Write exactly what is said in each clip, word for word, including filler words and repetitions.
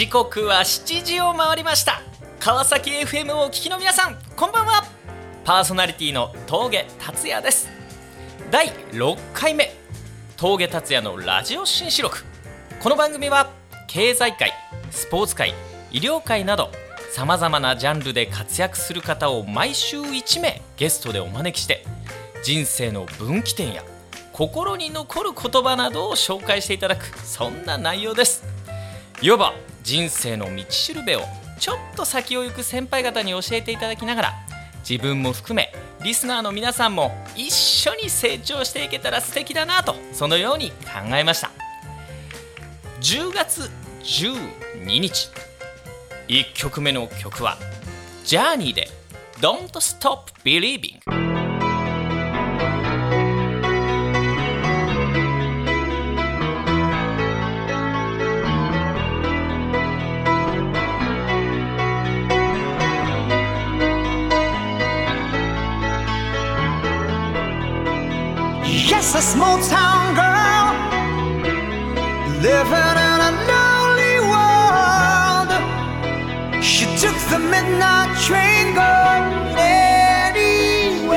時刻はしちじを回りました。川崎 エフエム をお聞きの皆さん、こんばんは。パーソナリティの峠達也です。だいろっかいめ、峠達也のラジオ新四録。この番組は経済界、スポーツ界、医療界などさまざまなジャンルで活躍する方を毎週いちめいゲストでお招きして、人生の分岐点や心に残る言葉などを紹介していただく、そんな内容です。いわば人生の道しるべをちょっと先を行く先輩方に教えていただきながら、自分も含めリスナーの皆さんも一緒に成長していけたら素敵だなと、そのように考えました。じゅうがつじゅうににち、いっきょくめの曲はジャーニーで Don't Stop Believing。 Yes, a small town girl living in a lonely world. She took the midnight train going anywhere.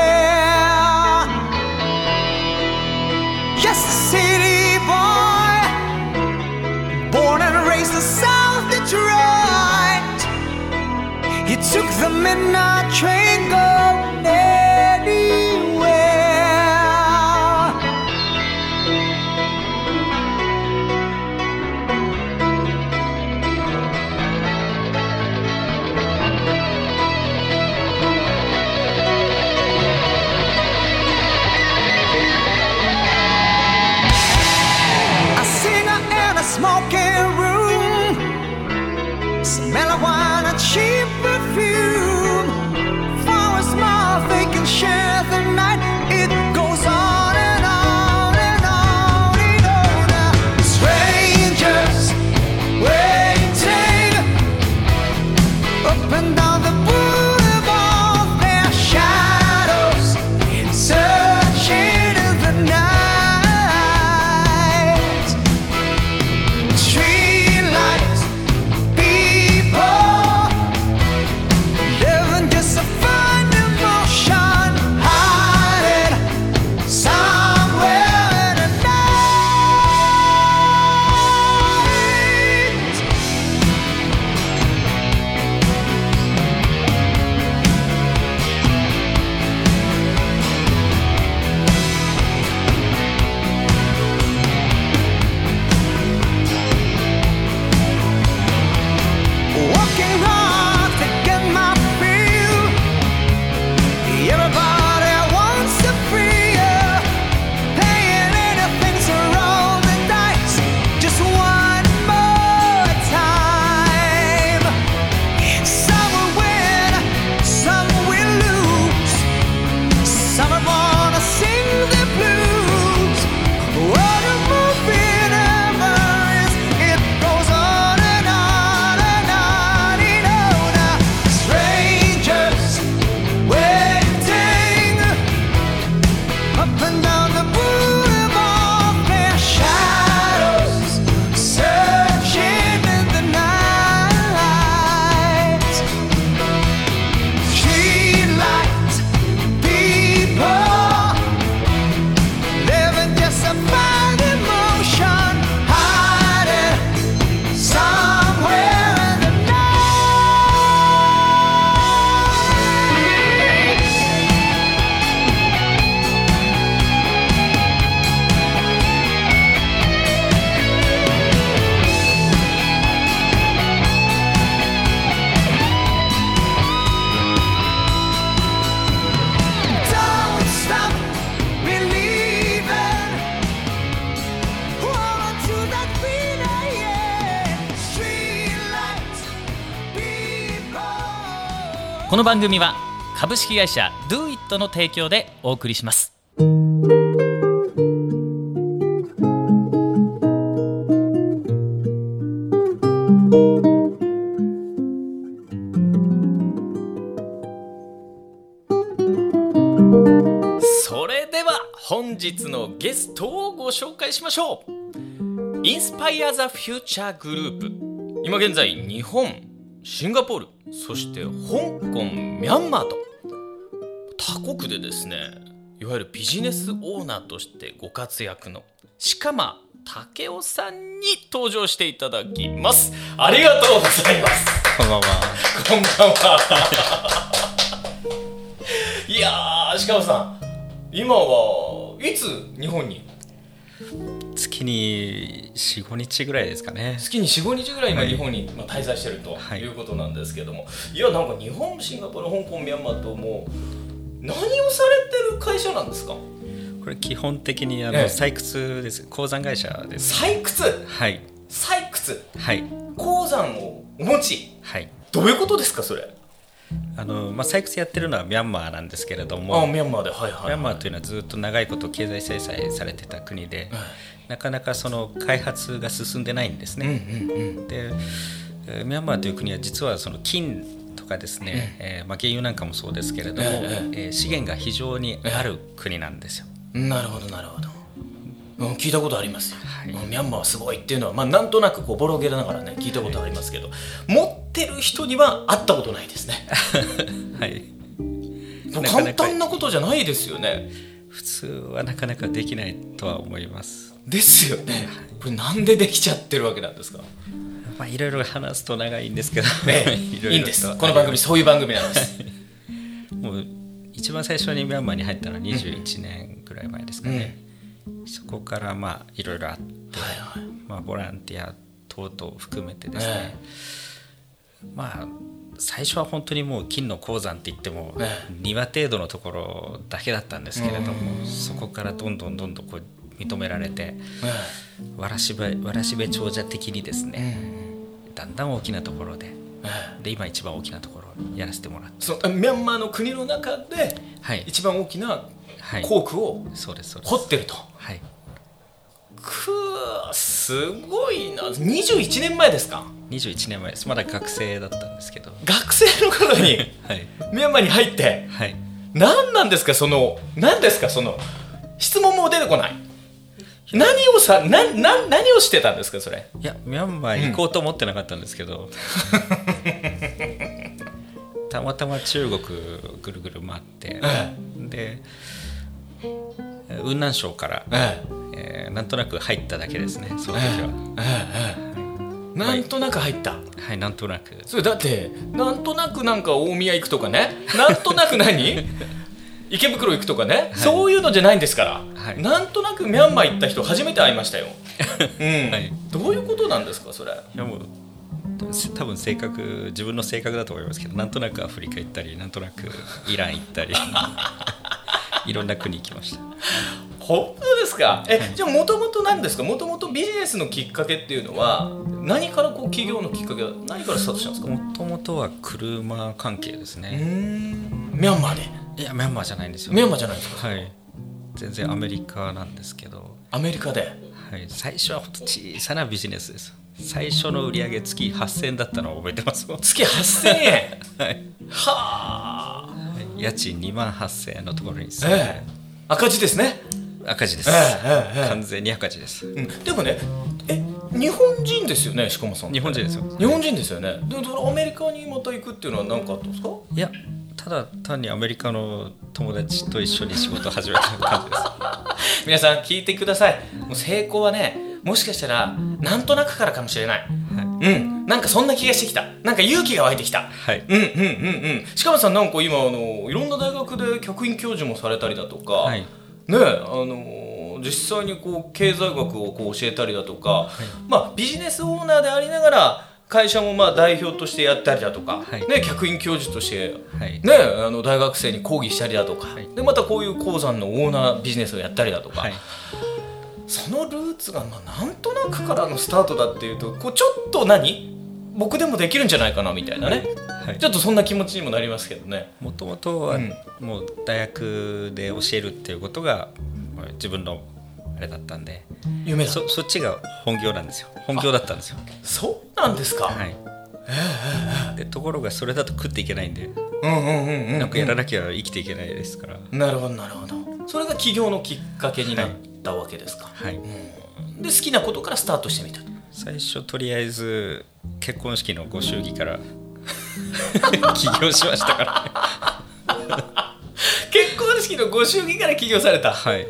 Yes, a city boy, born and raised in South Detroit. He took the midnight train going anywhere. Smoking room, smell of wine and cheap perfume. For a smile they can share the night. It goes on and on and on and on. Strangers waiting up and down the boulevard, their shadows searching in the night. この番組は株式会社 Do It の提供でお送りします。それでは本日のゲストをご紹介しましょう。インスパイアザフューチャーグループ今現在日本、シンガポール、そして香港、ミャンマーと他国でですね、いわゆるビジネスオーナーとしてご活躍の鹿間武雄さんに登場していただきます。ありがとうございます。 こんばんは。 こんばんはいやー、鹿間さん、今はいつ日本に？ 月に よん、ごにちぐらいですかね。 月に よん、ごにちぐらい今日本に滞在してるということなんですけども、はい、いやなんか日本、シンガポール、香港、ミャンマーともう何をされてる会社なんですか？ これ基本的にあの、ええ、採掘です。鉱山会社です。 採掘？ はい。 採掘？ はい。 鉱山をお持ち？ はい。 どういうことですかそれ？ あのまあ、採掘やってるのはミャンマーなんですけれども、 ああミャンマーで、はいはいはい、 ミャンマーというのはずっと長いこと経済制裁されてた国で、はい、なかなかその開発が進んでないんですね、うんうんうん、でミャンマーという国は実はその金とかですね、うんえーまあ、原油なんかもそうですけれども、えーえー、資源が非常にある国なんですよ。 なるほどなるほど、うん、聞いたことありますよ、はい、ミャンマーはすごいっていうのは、まあ、なんとなくこうボロゲラながらね聞いたことありますけど、はい、持ってる人には会ったことないですねはい簡単なことじゃないですよね。 普通はなかなかできないとは思いますですよね。これなんでできちゃってるわけなんですか？ まあいろいろ話すと長いんですけど、 ね、いろいろいいんです。この番組そういう番組なんですもう一番最初にミャンマーに入ったのはにじゅういちねんぐらい前ですかね、うん、そこからまあいろいろあって、はいはいまあ、ボランティア等々含めてですね、えー、まあ最初は本当にもう金の鉱山って言っても庭程度のところだけだったんですけれども、そこからどんどんどんどんこう認められて、わらしべ、わらしべ長者的にですね、だんだん大きなところで、で今一番大きなところをやらせてもらって、 そのミャンマーの国の中で一番大きな鉱区を掘ってると、 はい、 くーすごいな。にじゅういちねんまえですか？ にじゅういちねんまえです。まだ学生だったんですけど、 学生の頃に、はい、ミャンマーに入って、はい、何なんですかその何ですかその質問も出てこない。何をさなな何をしてたんですかそれ？ いやミャンマー行こうと思ってなかったんですけど、うん、たまたま中国ぐるぐる回って、うん、で雲南省から、うんえー、なんとなく入っただけですねその時は、うんうん、なんとなく入った、 はいなんとなくそれだってなんとなくなんか大宮行くとかねなんとなく何池袋行くとかね、はい、そういうのじゃないんですから、はい、なんとなくミャンマー行った人初めて会いましたよ、うんはい、どういうことなんですかそれ？ いやもう多分性格自分の性格だと思いますけど、なんとなくアフリカ行ったりなんとなくイラン行ったりいろんな国行きました。 本当ですか？え、じゃあもともと何ですか？もともとビジネスのきっかけっていうのは何からこう起業のきっかけは何からスタートしたんですか？ もともとは車関係ですね。 うーんミャンマーで？ いやミャンマーじゃないんですよ。 ミャンマーじゃないですか？ はい全然アメリカなんですけど。 アメリカで？ はい最初はほんと小さなビジネスです。最初の売り上げ月はっせんえんだったのを覚えてます。 月はっせんえんはいはあ家賃にまんはっせんえんのところに住んで、ええ、赤字ですね。 赤字です、ええええ、 完全に赤字です、 うん、でもねえ日本人ですよねしかもさん日本人ですよ。 日本人ですよね。でアメリカにまた行くっていうのは何かあったんですか？ いやただ単にアメリカの友達と一緒に仕事を始めた感じです皆さん聞いてください。もう成功はねもしかしたらなんとなくからかもしれない、はい、うんなんかそんな気がしてきた。なんか勇気が湧いてきた、 はい、 うんうんうんうんしかもさんなんか今あのいろんな大学で客員教授もされたりだとか、はい、ねあの実際にこう経済学をこう教えたりだとか、はいまあ、ビジネスオーナーでありながら会社もまあ代表としてやったりだとか、はいね、客員教授として、はいね、あの大学生に講義したりだとか、はい、でまたこういう鉱山のオーナービジネスをやったりだとか、はい、そのルーツがまあなんとなくからのスタートだっていうとこうちょっと何僕でもできるんじゃないかなみたいなね、はい、ちょっとそんな気持ちにもなりますけどね。 もともとはもう大学で教えるっていうことが自分のあれだったんで夢だそ, そっちが本業なんですよ。本業だったんですよ。 そうなんですか、 はいえー、でところがそれだと食っていけないんで、 うんうんうんうんうん、 なんかやらなきゃ生きていけないですから。 なるほどなるほど。それが起業のきっかけになったわけですか。 はい、はいうん、で好きなことからスタートしてみた。 最初とりあえず結婚式のご祝儀から起業しましたから結婚式のご祝儀から起業された。 はい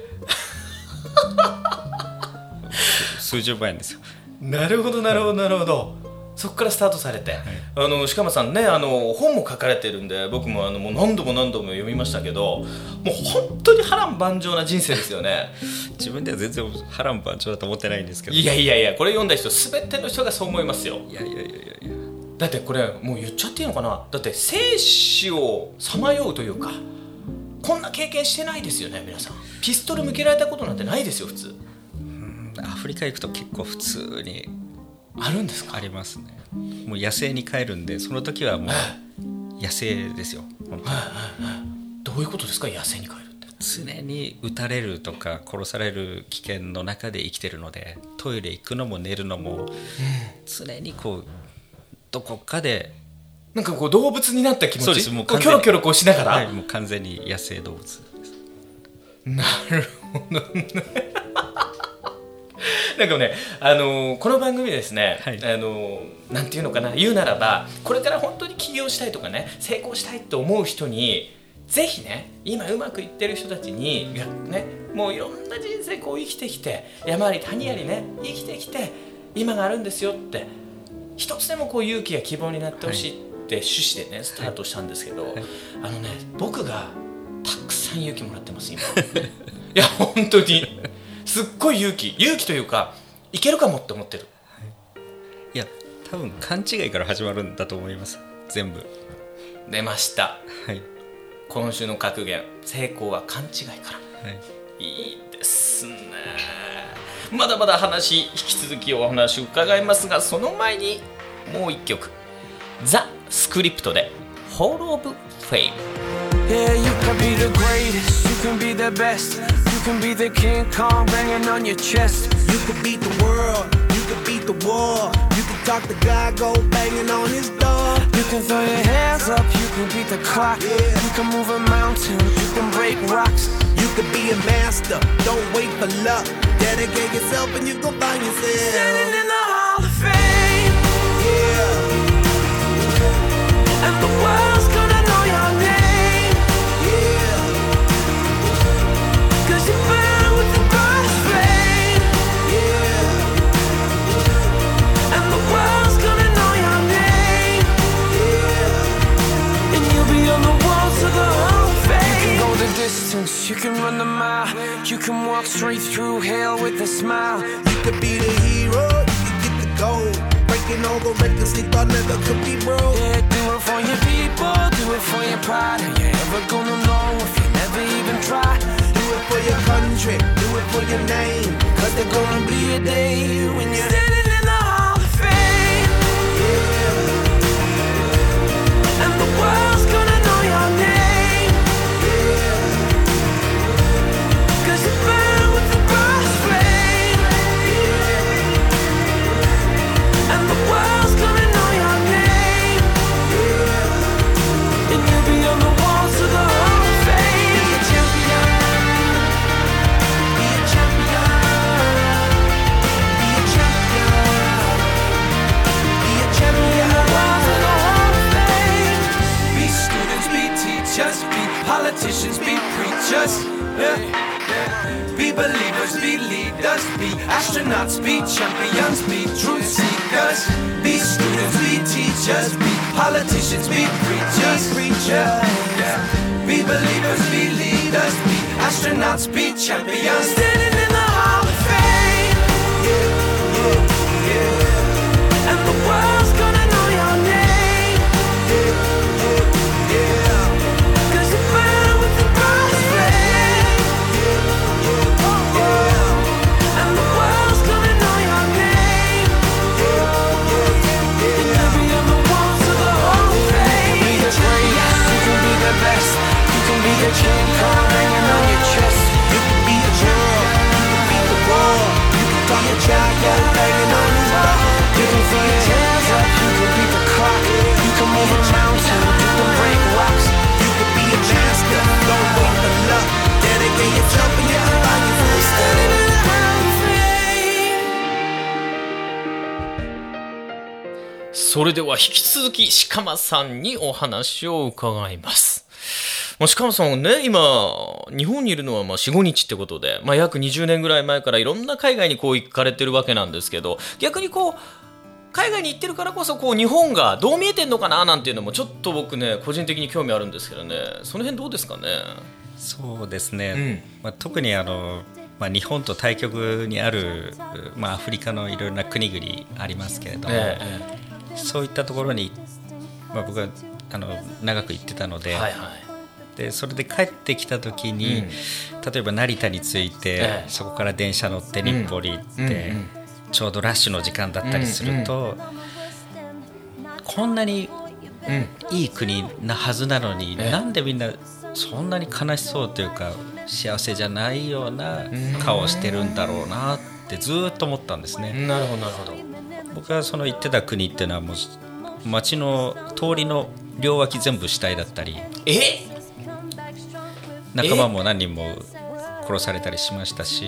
数十万円ですよ。 なるほどなるほどなるほど。そこからスタートされて、はい、あの鹿間さんね、あの本も書かれてるんで、僕もあのもう何度も何度も読みましたけど、もう本当に波乱万丈な人生ですよね自分では全然波乱万丈だと思ってないんですけど。 いやいやいや、これ読んだ人全ての人がそう思いますよ。 いやいやいやいやいや、 だってこれもう言っちゃっていいのかな。だって生死をさまようというか、こんな経験してないですよね皆さん。ピストル向けられたことなんてないですよ普通。 うん、アフリカ行くと結構普通にあるんですか。 ありますね。もう野生に帰るんで、その時はもう野生ですよ本当に。 どういうことですか野生に帰るって。 常に撃たれるとか殺される危険の中で生きてるので、トイレ行くのも寝るのも常にこうどこかでなんかこう動物になった気持ち。 そうです。もうキョロキョロこうしながら、 はい、もう完全に野生動物です。 なるほどねなんかね、あのー、この番組ですね、はい、あのー、なんていうのかな、言うならばこれから本当に起業したいとかね、成功したいと思う人にぜひね、今うまくいってる人たちに、いや、ね、もういろんな人生こう生きてきて、山あり谷ありね生きてきて今があるんですよって、一つでもこう勇気や希望になってほしいって趣旨でねスタートしたんですけど、はいはい、あのね、僕がたくさん勇気もらってます今いや本当にすっごい勇気勇気というか、いけるかもって思ってる、 はい、いや多分勘違いから始まるんだと思います。全部出ました、 はい、 今週の格言、成功は勘違いから、 はい、 いいですね。まだまだ話引き続きお話伺いますが、その前にもう一曲、ザ・スクリプトで Hall of Fame。 Yeah, you can be the greatest, you can be the best, you can be the King Kong banging on your chest. You can beat the world, you can beat the war, you can talk to God, go banging on his door. You can throw your hands up, you can beat the clock, yeah. You can move a mountain, you can break rocks. You can be a master, don't wait for luck. Dedicate yourself and you gon' find yourself standing in the Hall of Fame. Yeah. And the world's gonna know your name. Yeah. Cause you burn with the brightest flame. Yeah. And the world's gonna know your name. Yeah. And you'll be on the walls of the Hall of Fame. You can go the distance, you can run the mile, you can walk straight through hell with a smile. You could be the hero, you can get the gold, breaking all the records they thought never could be broke. Yeah, do it for your people, do it for your pride. Are you ever gonna know if you never even try? Do it for your country, do it for your name, cause there's gonna be a day when you're standing in the Hall of Fame. Yeah. And the world's gonna know your name. Politicians be preachers, yeah. Be believers, be leaders, be astronauts, be champions, be truth seekers. Be students, be teachers, be politicians, be preachers, preachers, yeah. Be believers, be leaders, be astronauts, be champions. Standing in the Hall of Fame, yeah, yeah, yeah. And the world's gonna know your name, yeah, yeah, yeah. The King Kong banging on your chest. You can be a girl, you can beat the war, you can talk your child, yeah, banging on his door. You can throw your hands up, you can beat the clock, you can move a mountain, you can break rocks. You can be a master, don't wait for luck. Dedicate yourself and you can find yourself standing in the Hall of Fame. それでは引き続き鹿間さんにお話を伺います。まあ、鹿間さんね、今日本にいるのはまあ よん,ご 日ってことで、まあ、約にじゅうねんぐらい前からいろんな海外にこう行かれてるわけなんですけど、逆にこう海外に行ってるからこそこう日本がどう見えてんのかななんていうのもちょっと僕ね個人的に興味あるんですけどね、その辺どうですかね。 そうですね、うんまあ、特にあの、まあ、日本と対極にある、まあ、アフリカのいろいろな国々ありますけれども、ええ、そういったところに、まあ、僕はあの長く行ってたので、はいはい、でそれで帰ってきた時に、うん、例えば成田に着いて、ええ、そこから電車乗って日暮里行って、うんうんうん、ちょうどラッシュの時間だったりすると、うんうん、こんなにいい国なはずなのに、ええ、なんでみんなそんなに悲しそうというか幸せじゃないような顔をしてるんだろうなってずっと思ったんですね。 なるほどなるほど。 僕がその行ってた国っていうのはもう街の通りの両脇全部死体だったり、 え仲間も何人も殺されたりしましたし、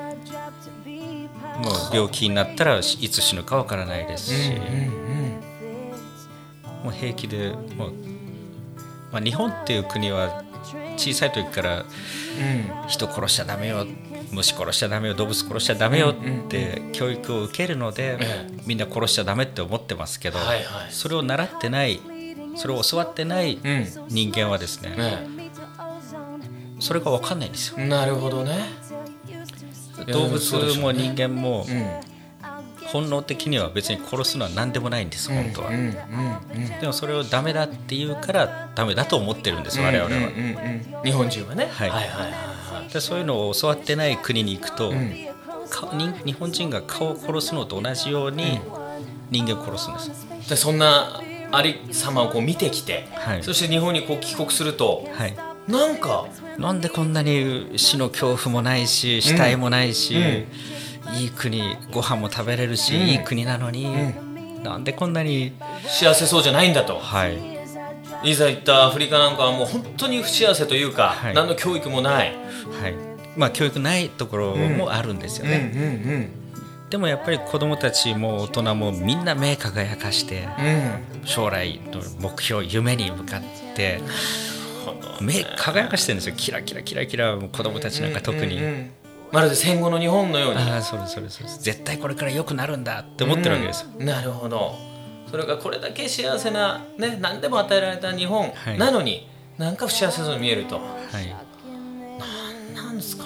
もう病気になったらいつ死ぬかわからないですし、うんうんうん、もう平気でもう、まあ、日本っていう国は小さい時から、うん、人殺しちゃダメよ、虫殺しちゃダメよ、動物殺しちゃダメよって教育を受けるので、うんうん、みんな殺しちゃダメって思ってますけど、はいはい、それを習ってない、それを教わってない人間はですね、うん、それが分かんないんですよ。 なるほどね。 動物も人間も、うん、本能的には別に殺すのは何でもないんです、本当は、うんうんうんうん、でもそれをダメだって言うからダメだと思ってるんです、我々は、うんうんうんうん、日本人はね、 はいはいはいはい、でそういうのを教わってない国に行くと、うん、日本人が顔を殺すのと同じように人間を殺すんです、 うん、でそんなありさまをこう見てきて、はい、そして日本にこう帰国すると、はい、なんかなんでこんなに死の恐怖もないし死体もないし、うんうん、いい国、ご飯も食べれるし、うん、いい国なのに、うん、なんでこんなに幸せそうじゃないんだと、 はい、 いざ行ったアフリカなんかはもう本当に不幸せというか、はい、何の教育もない、 はい、まあ教育ないところもあるんですよね、うんうんうんうん、でもやっぱり子どもたちも大人もみんな目輝かして、うん、将来の目標夢に向かって目輝かしてるんですよ。キラキラキラキラ、子供たちなんか特に、うんうんうん、 まるで戦後の日本のように、 ああ、それそれそれ、絶対これから良くなるんだって思ってるわけですよ、 うん、なるほど。それがこれだけ幸せな、ね、何でも与えられた日本、はい、なのになんか不幸せそうに見えると、はい、なんなんですかね。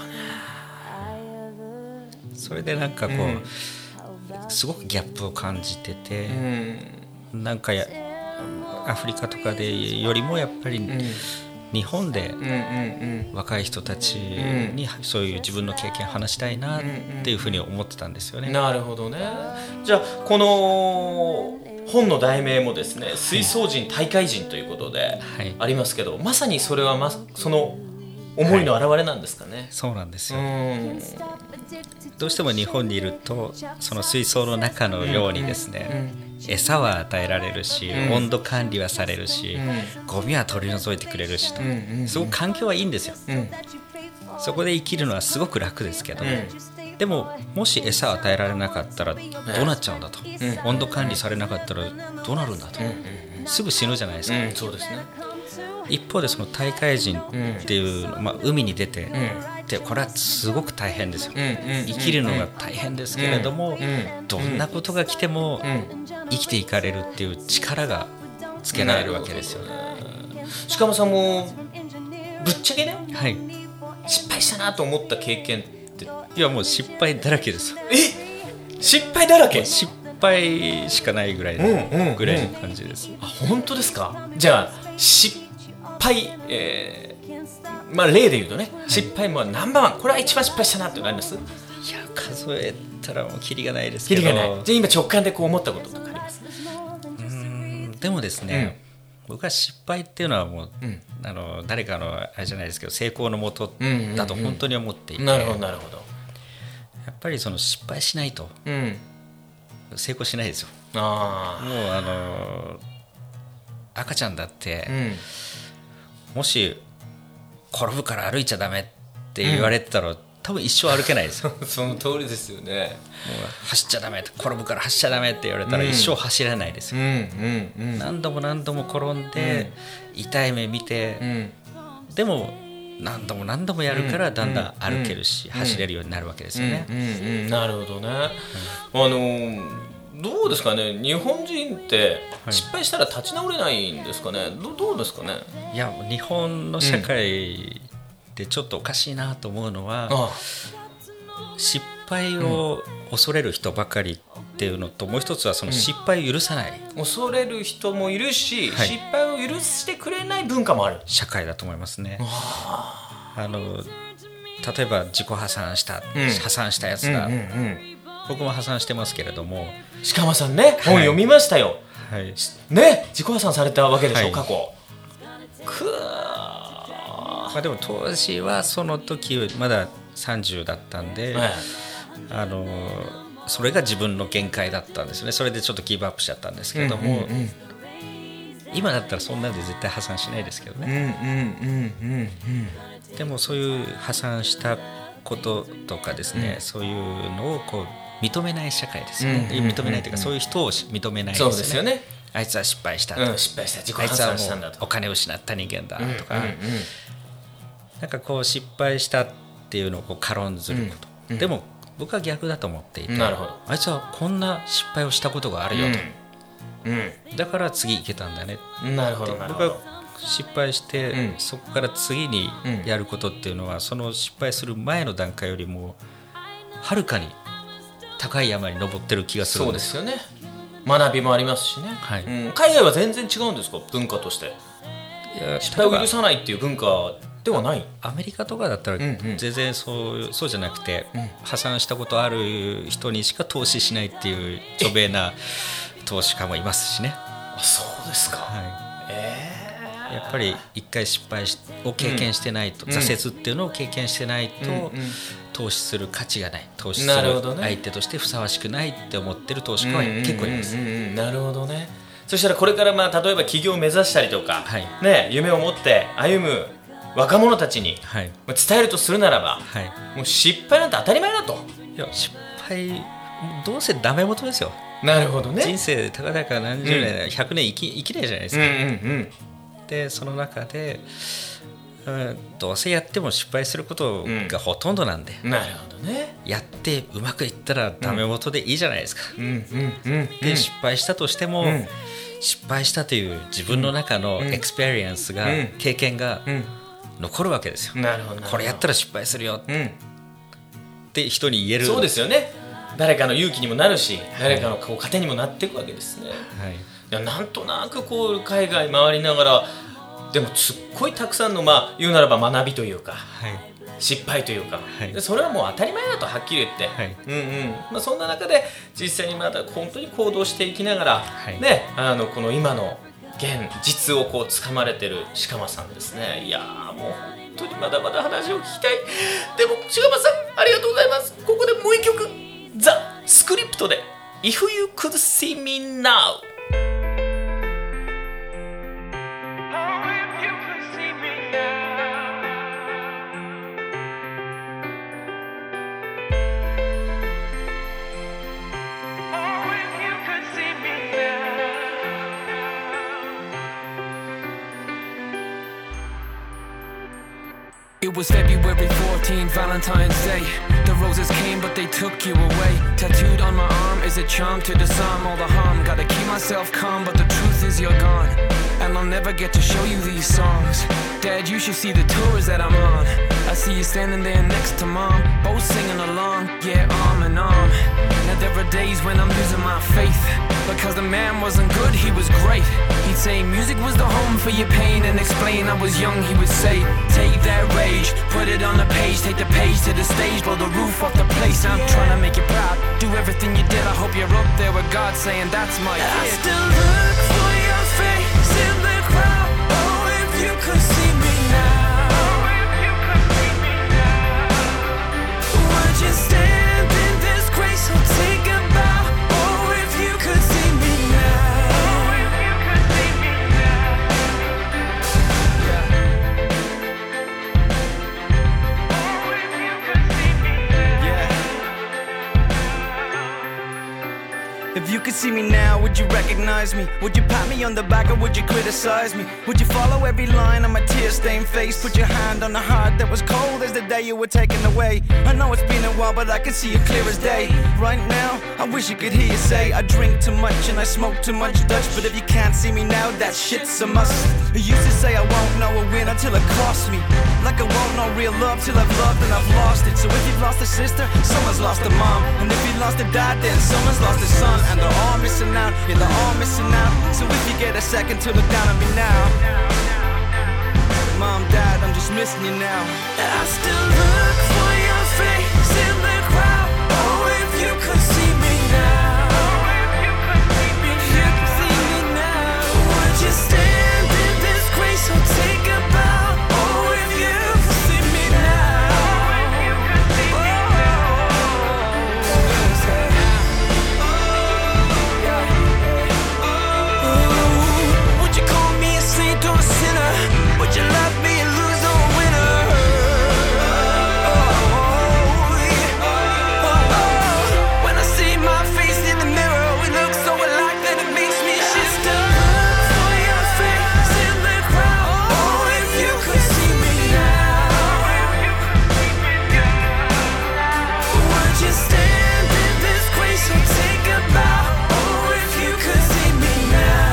それでなんかこう、うん、すごくギャップを感じてて、うん、なんかやアフリカとかでよりもやっぱり、うん、日本で若い人たちにそういう自分の経験を話したいなっていうふうに思ってたんですよね。 なるほどね。じゃあこの本の題名もですね、水槽人大海人ということでありますけど、はい、まさにそれは、ま、その思いの表れなんですかね、はい、 そうなんですよ。うんどうしても日本にいるとその水槽の中のようにですね、うんうん、餌は与えられるし、うん、温度管理はされるし、うん、ゴミは取り除いてくれるしと、うんうんうん、すごく環境はいいんですよ、うん、そこで生きるのはすごく楽ですけど、うん、でももし餌を与えられなかったらどうなっちゃうんだと、うん、温度管理されなかったらどうなるんだと、うんうん、すぐ死ぬじゃないですか、 うん、そうですね。 一方でその大海人っていう、うんまあ、海に出て、うん、でこれはすごく大変ですよ、うんうん、生きるのが大変ですけれども、うんうん、どんなことが来ても生きていかれるっていう力がつけられるわけですよね。 鹿間さんもぶっちゃけね、 はい、 失敗したなと思った経験って？ いやもう失敗だらけですよ。 え失敗だらけ？ 失敗しかないぐらいの、うんうん、ぐらいの感じです。 あ、本当ですか？じゃあ失敗、えーまあ、例で言うとね、はい、失敗もナンバーワン、これは一番失敗したなってなります？いや数えたらもうキリがないですけど。 キリがない。じゃあ今直感でこう思ったこととかあります？ うーんでもですね、うん、僕は失敗っていうのはもう、うん、あの誰かのあれじゃないですけど成功のもとだと本当に思っていて、 うんうんうん、なるほどなるほど。 やっぱりその失敗しないと、うん、成功しないですよ。 あもうあの赤ちゃんだって、うん、もし転ぶから歩いちゃダメって言われてたら、うん、 多分一生歩けないですよその通りですよね。 もう走っちゃダメ、転ぶから走っちゃダメって言われたら一生走れないですよ、 うんうんうん、 何度も何度も転んで、うん、痛い目見て、うん、でも何度も何度もやるからだんだん歩けるし、うん、走れるようになるわけですよね、 うんうんうん、なるほどね、うん、あのーどうですかね、日本人って失敗したら立ち直れないんですかね、はい、ど, どうですかね。 いや、日本の社会でちょっとおかしいなと思うのは、うん、失敗を恐れる人ばかりっていうのと、もう一つはその失敗を許さない、 うん、恐れる人もいるし、はい、失敗を許してくれない文化もある社会だと思いますね。あの例えば自己破産した、うん、破産したやつが、うんうんうん、僕も破産してますけれども、 鹿間さんね、本読みましたよ、はい、ね、自己破産されたわけでしょ、はい、過去。くまあ、でも当時はその時まださんじゅうだったんで、はい、あのそれが自分の限界だったんですね。それでちょっとギブアップしちゃったんですけれども、うんうんうん、今だったらそんなんで絶対破産しないですけどね、うんうんうんうん、でもそういう破産したこととかですね、うん、そういうのをこう認めない社会ですよね、うんうんうんうん、認めないというかそういう人を認めないですよね。そうですよね。あいつは失敗したと、うん、失敗した、自己破産したんだと、あいつはもうお金を失った人間だとか、うんうんうん、なんかこう失敗したっていうのをこう軽んずること、うんうん、でも僕は逆だと思っていて、なるほど、あいつはこんな失敗をしたことがあるよと、うんうん、だから次行けたんだねって。なるほど、なるほど。僕は失敗して、うん、そこから次にやることっていうのは、その失敗する前の段階よりもはるかに高い山に登ってる気がするんです。そうですよね。学びもありますしね、はい、うん、海外は全然違うんですか、文化として。いや、失敗を許さないっていう文化ではない。アメリカとかだったら全然そう、うんうん、そうじゃなくて、うん、破産したことある人にしか投資しないっていう著名な投資家もいますしね。あ、そうですか、はい、えー、やっぱり一回失敗を経験してないと、うん、挫折っていうのを経験してないと、うんうん、投資する価値がない、投資する相手としてふさわしくないって思ってる投資家は結構います。なるほどね。そしたらこれからまあ例えば起業を目指したりとか、はいね、夢を持って歩む若者たちに伝えるとするならば、はい、もう失敗なんて当たり前だと。いや、失敗どうせダメ元ですよ。なるほどね。人生たかだか何十年、うん、ひゃくねん生き、生きないじゃないですか、うんうんうん、でその中で、うん、どうせやっても失敗することがほとんどなんで、うん、なるほどね。やってうまくいったらダメ元でいいじゃないですか、うんうんうんうん、で失敗したとしても、うん、失敗したという自分の中のエクスペリエンスが、うん、経験が残るわけですよ、うん、なるほど。これやったら失敗するよって人に言える。そうですよね。誰かの勇気にもなるし、誰かのこう糧にもなっていくわけですね、はい、いや、なんとなくこう海外回りながら、でもすっごいたくさんの、まあ、言うならば学びというか、はい、失敗というか、はい、でそれはもう当たり前だとはっきり言って、はい、うんうんまあ、そんな中で実際にまた本当に行動していきながら、はいね、あのこの今の現実をこう掴まれてる鹿間さんですね。いやー、もう本当にまだまだ話を聞きたい。でも鹿間さん、ありがとうございます。ここでもう一曲、ザ・スクリプトで If You Could See Me Now。 It was February fourteenth, Valentine's Day. The roses came but they took you away. Tattooed on my arm is a charm to disarm all the harm. Gotta keep myself calm but the truth is you're gone, and I'll never get to show you these songs. Dad, you should see the tours that I'm on. I see you standing there next to Mom, both singing along, yeah, arm in arm. Now there are days when I'm losing my faith, because the man wasn't good, he was great. He'd say music was the home for your pain, and explain I was young, he would say, take that rage, put it on the page, take the page to the stage, blow the roof off the place. I'm trying to make you proud, do everything you did, I hope you're up there with God saying that's my kid. I still look for your face in the crowd. Oh, if you could see me now. Would you stand in this grace or take a bow? Oh, if you could see me now. Oh, if you could see me now. Oh, if you could see me If you could see me now, would you recognize me? Would you pat me on the back or would you criticize me? Would you follow every line on my tear-stained face? Put your hand on the heart that was cold as the day you were taken away. I know it's been a while, but I can see you clear as day. Right now, I wish you could hear you say I drink too much and I smoke too much Dutch. But if you can't see me now, that shit's a must. You used to say I won't know a win until it costs me. Like I won't know real love till I've loved and I've lost it. So if you've lost a sister, someone's lost a mom. And if you lost a dad, then someone's lost a son. And they're all missing out, yeah, they're all missing out. So if you get a second to look down at me now, Mom, Dad, I'm just missing you now. I still look for your face in the crowd. Oh, if you could see me now. If you could see me now. Would you stand in disgrace or take a bow? Oh, if you could see me now. Would you love me and lose or a winner? Oh, yeah. Oh, oh. When I see my face in the mirror, we look so alike that it makes me shift. Look for your face in the crowd. Oh, if you could see me now. Would you stand in disgrace or take a bow? Oh, if you could see me now.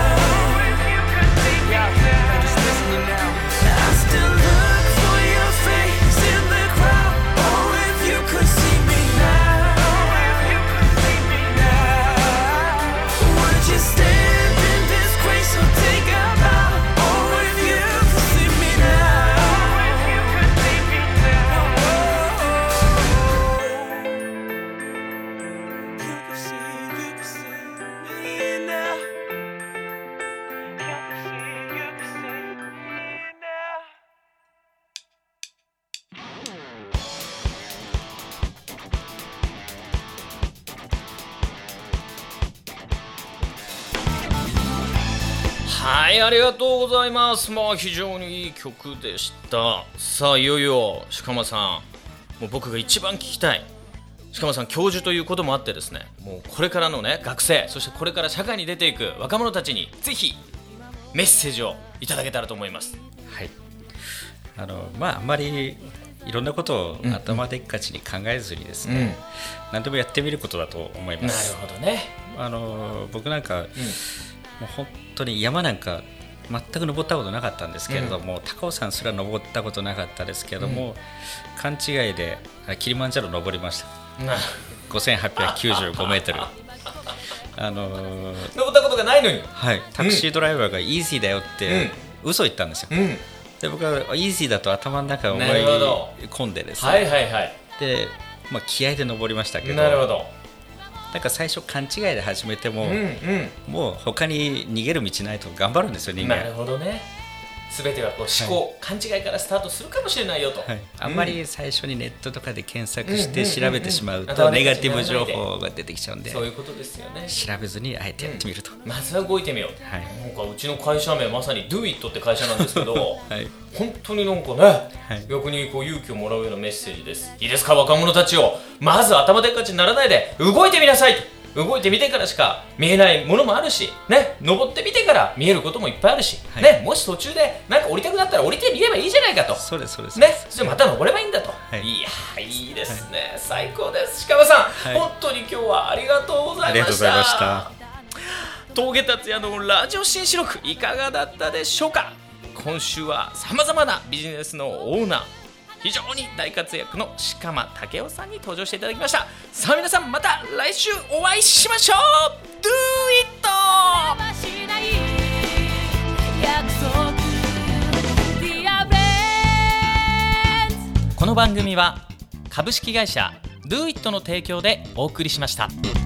はい、ありがとうございます。まあ非常にいい曲でした。さあいよいよ鹿間さん、もう僕が一番聞きたい鹿間さん教授ということもあってですね、もうこれからのね学生、そしてこれから社会に出ていく若者たちにぜひメッセージをいただけたらと思います。 はい、あのまああんまりいろんなことを頭でっかちに考えずにですね、うん、何でもやってみることだと思います。 なるほどね。 あの僕なんか、うん、もう本当に山なんか全く登ったことなかったんですけれども、うん、高尾山すら登ったことなかったですけれども、うん、勘違いでキリマンジャロ登りました。ごせんはっぴゃくきゅうじゅうごメートルあのー、 登ったことがないのに、 はい、タクシードライバーがイージーだよって嘘言ったんですよ、うん、で僕はイージーだと頭の中を思い込んでですね、 はいはいはい、 で、まあ、気合で登りましたけど、 なるほど、 なんか最初勘違いで始めても、うんうん、もう他に逃げる道ないと頑張るんですよ人間。 なるほどね。全てはこう思考、はい、勘違いからスタートするかもしれないよと、はい、 あんまり最初にネットとかで検索して調べてしまうとネガティブ情報が出てきちゃうんで、 そういうことですよね。 調べずにあえてやってみると、 うん、まずは動いてみよう、はい、なんかうちの会社名まさに Do It って会社なんですけど、はい、本当になんかね、はい、逆にこう勇気をもらうようなメッセージです。いいですか若者たちを、まず頭でっかちにならないで動いてみなさいと。動いてみてからしか見えないものもあるし、ね、登ってみてから見えることもいっぱいあるし、はい、ね、もし途中でなんか降りたくなったら降りてみればいいじゃないかと。 そうですそうです、 ね、そしてまた登ればいいんだと、はい、いやいいですね、はい、最高です。鹿間さん、はい、本当に今日はありがとうございました。ありがとうございました。峠達也のラジオ新四六いかがだったでしょうか。今週はさまざまなビジネスのオーナー、非常に大活躍の鹿間武雄さんに登場していただきました。さあ皆さん、また来週お会いしましょう。 Do it! この番組は株式会社 Do it の提供でお送りしました。